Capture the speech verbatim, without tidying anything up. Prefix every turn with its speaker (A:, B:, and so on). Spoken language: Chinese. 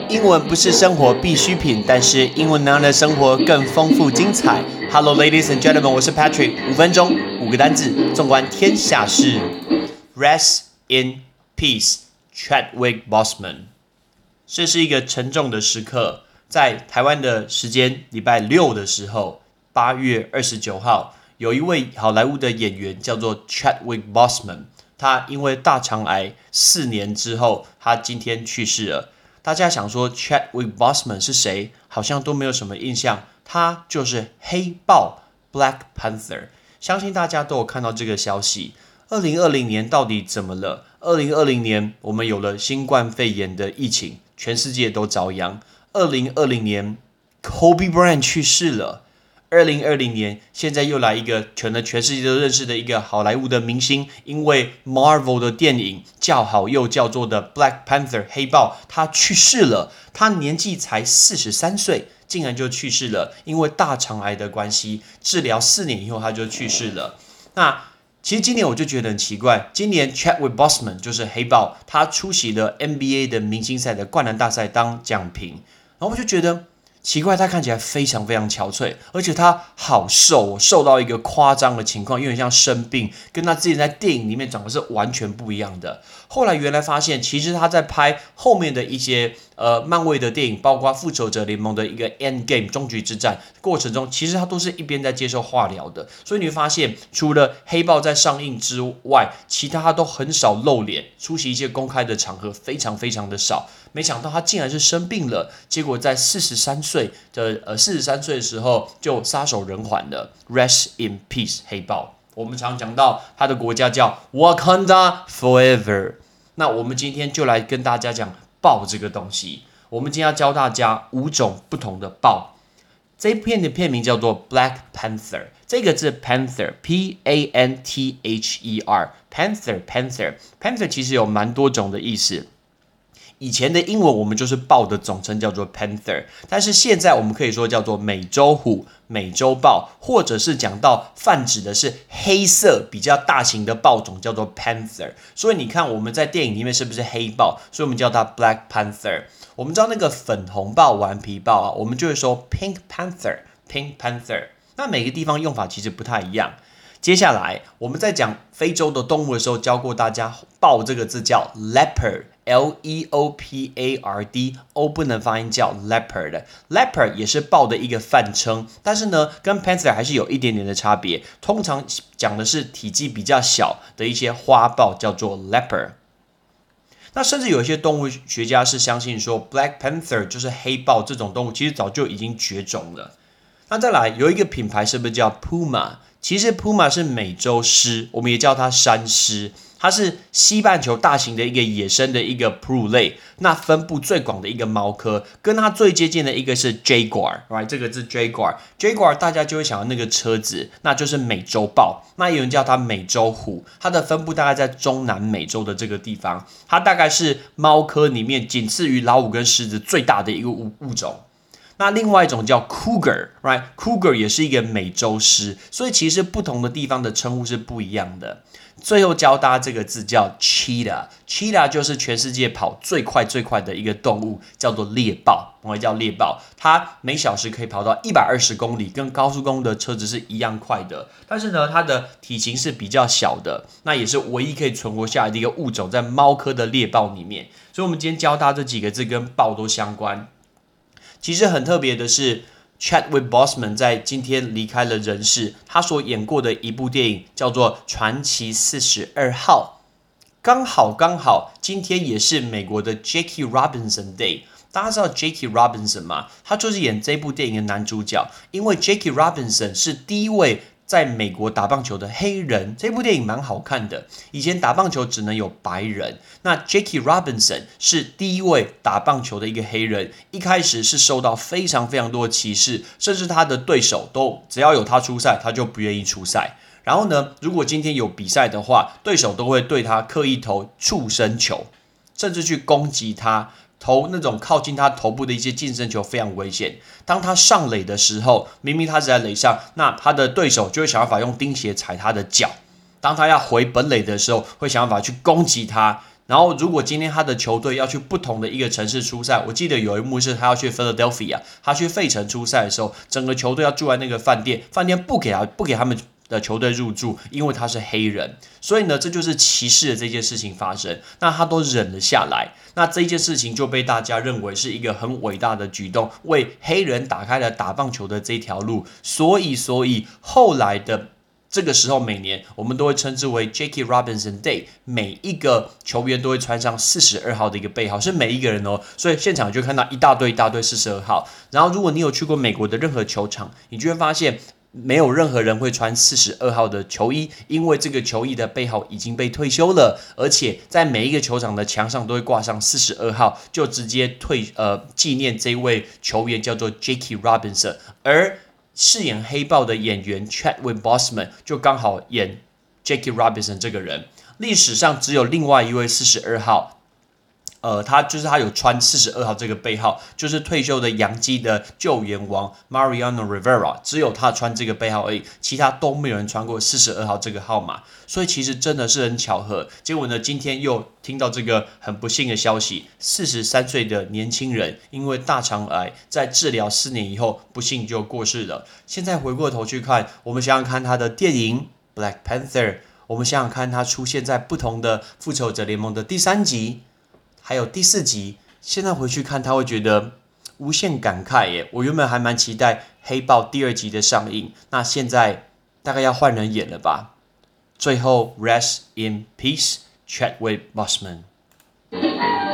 A: 英文不是生活必需品，但是英文能让你的生活更丰富精彩。Hello, ladies and gentlemen， 我是 Patrick。五分钟，五个单字，纵观天下事。Rest in peace, Chadwick Boseman。这是一个沉重的时刻，在台湾的时间礼拜六的时候，八月二十九号，有一位好莱坞的演员叫做 Chadwick Boseman， 他因为大肠癌四年之后，他今天去世了。大家想说 Chadwick Boseman 是谁？好像都没有什么印象。他就是黑豹 Black Panther， 相信大家都有看到这个消息。二零二零年到底怎么了？二零二零年我们有了新冠肺炎的疫情，全世界都遭殃。二零二零年 Kobe Bryant 去世了。二零二零年，现在又来一个可能全世界都认识的一个好莱坞的明星，因为 Marvel 的电影叫好又叫座的 Black Panther 黑豹，他去世了。他年纪才四十三岁，竟然就去世了，因为大肠癌的关系，治疗四年以后他就去世了。那其实今年我就觉得很奇怪，今年 Chadwick Boseman 就是黑豹，他出席了 N B A 的明星赛的灌篮大赛当奖评，然后我就觉得奇怪，他看起来非常非常憔悴，而且他好瘦、哦，瘦到一个夸张的情况，有点像生病，跟他之前在电影里面长得是完全不一样的。后来原来发现，其实他在拍后面的一些呃漫威的电影，包括复仇者联盟的一个 End Game 终局之战过程中，其实他都是一边在接受化疗的。所以你会发现，除了黑豹在上映之外，其他他都很少露脸，出席一些公开的场合非常非常的少。没想到他竟然是生病了，结果在四十三岁的呃四十三岁的时候就撒手人寰了。Rest in peace， 黑豹。我们常讲到他的国家叫 Wakanda Forever。那我们今天就来跟大家讲豹这个东西。我们今天要教大家五种不同的豹。这一片的片名叫做 Black Panther， 这个字 Panther P A N T H E R Panther Panther Panther 其实有蛮多种的意思。以前的英文我们就是豹的总称叫做 Panther， 但是现在我们可以说叫做美洲虎、美洲豹，或者是讲到泛指的是黑色比较大型的豹种叫做 Panther。所以你看我们在电影里面是不是黑豹？所以我们叫它 Black Panther。我们知道那个粉红豹、顽皮豹啊，我们就会说 Pink Panther Pink Panther。那每个地方用法其实不太一样。接下来我们在讲非洲的动物的时候，教过大家豹这个字叫 leopard L E O P A R D O 不能发音叫 leopard leopard 也是豹的一个泛称，但是呢跟 panther 还是有一点点的差别。通常讲的是体积比较小的一些花豹叫做 leopard。那甚至有一些动物学家是相信说 Black Panther 就是黑豹这种动物其实早就已经绝种了。那再来有一个品牌是不是叫 Puma？ 其实 Puma 是美洲狮，我们也叫它山狮，它是西半球大型的一个野生的一个哺乳类，那分布最广的一个猫科，跟它最接近的一个是 Jaguar， right？ 这个字 Jaguar Jaguar 大家就会想到那个车子，那就是美洲豹，那有人叫它美洲虎，它的分布大概在中南美洲的这个地方，它大概是猫科里面仅次于老虎跟狮子最大的一个物物种。那另外一种叫 Cougar， right？ Cougar 也是一个美洲狮，所以其实不同的地方的称呼是不一样的。最后教大家这个字叫 Cheetah， Cheetah 就是全世界跑最快最快的一个动物，叫做猎豹，我们叫猎豹。它每小时可以跑到一百二十公里，跟高速公路的车子是一样快的。但是呢，它的体型是比较小的，那也是唯一可以存活下来的一个物种，在猫科的猎豹里面。所以我们今天教大家这几个字跟豹都相关。其实很特别的是 Chadwick Boseman 在今天离开了人世，他所演过的一部电影叫做《传奇四十二号》，刚好刚好今天也是美国的 Jackie Robinson Day。大家知道 Jackie Robinson 吗？他就是演这部电影的男主角，因为 Jackie Robinson 是第一位在美国打棒球的黑人。这部电影蛮好看的，以前打棒球只能有白人，那 Jackie Robinson 是第一位打棒球的一个黑人，一开始是受到非常非常多的歧视，甚至他的对手都只要有他出赛他就不愿意出赛。然后呢，如果今天有比赛的话，对手都会对他刻意投触身球，甚至去攻击他，投那种靠近他头部的一些近身球非常危险。当他上垒的时候，明明他是在垒上，那他的对手就会想办法用钉鞋踩他的脚。当他要回本垒的时候，会想办法去攻击他， 然后如果今天他的球队要去不同的一个城市出赛，我记得有一幕是他要去 Philadelphia， 他去费城出赛的时候，整个球队要住在那个饭店，饭店不给他不给他们的球队入住，因为他是黑人，所以呢，这就是歧视的这件事情发生。那他都忍了下来，那这件事情就被大家认为是一个很伟大的举动，为黑人打开了打棒球的这条路。所以，所以后来的这个时候，每年我们都会称之为 Jackie Robinson Day， 每一个球员都会穿上四十二号的一个背号，是每一个人哦。所以现场就看到一大堆一大堆四十二号。然后，如果你有去过美国的任何球场，你就会发现，没有任何人会穿四十二号的球衣，因为这个球衣的背号已经被退休了，而且在每一个球场的墙上都会挂上四十二号，就直接退呃纪念这位球员叫做 Jackie Robinson， 而饰演黑豹的演员 Chadwick Boseman 就刚好演 Jackie Robinson 这个人。历史上只有另外一位四十二号。呃，他就是他有穿四十二号这个背号，就是退休的洋基的救援王 Mariano Rivera， 只有他穿这个背号而已，其他都没有人穿过四十二号这个号码，所以其实真的是很巧合。结果呢，今天又听到这个很不幸的消息，四十三岁的年轻人因为大肠癌在治疗四年以后，不幸就过世了。现在回过头去看，我们想想看他的电影 Black Panther， 我们想想看他出现在不同的复仇者联盟的第三集。还有第四集，现在回去看他会觉得无限感慨耶。我原本还蛮期待黑豹第二集的上映，那现在大概要换人演了吧。最后 ，Rest in peace, Chadwick Boseman。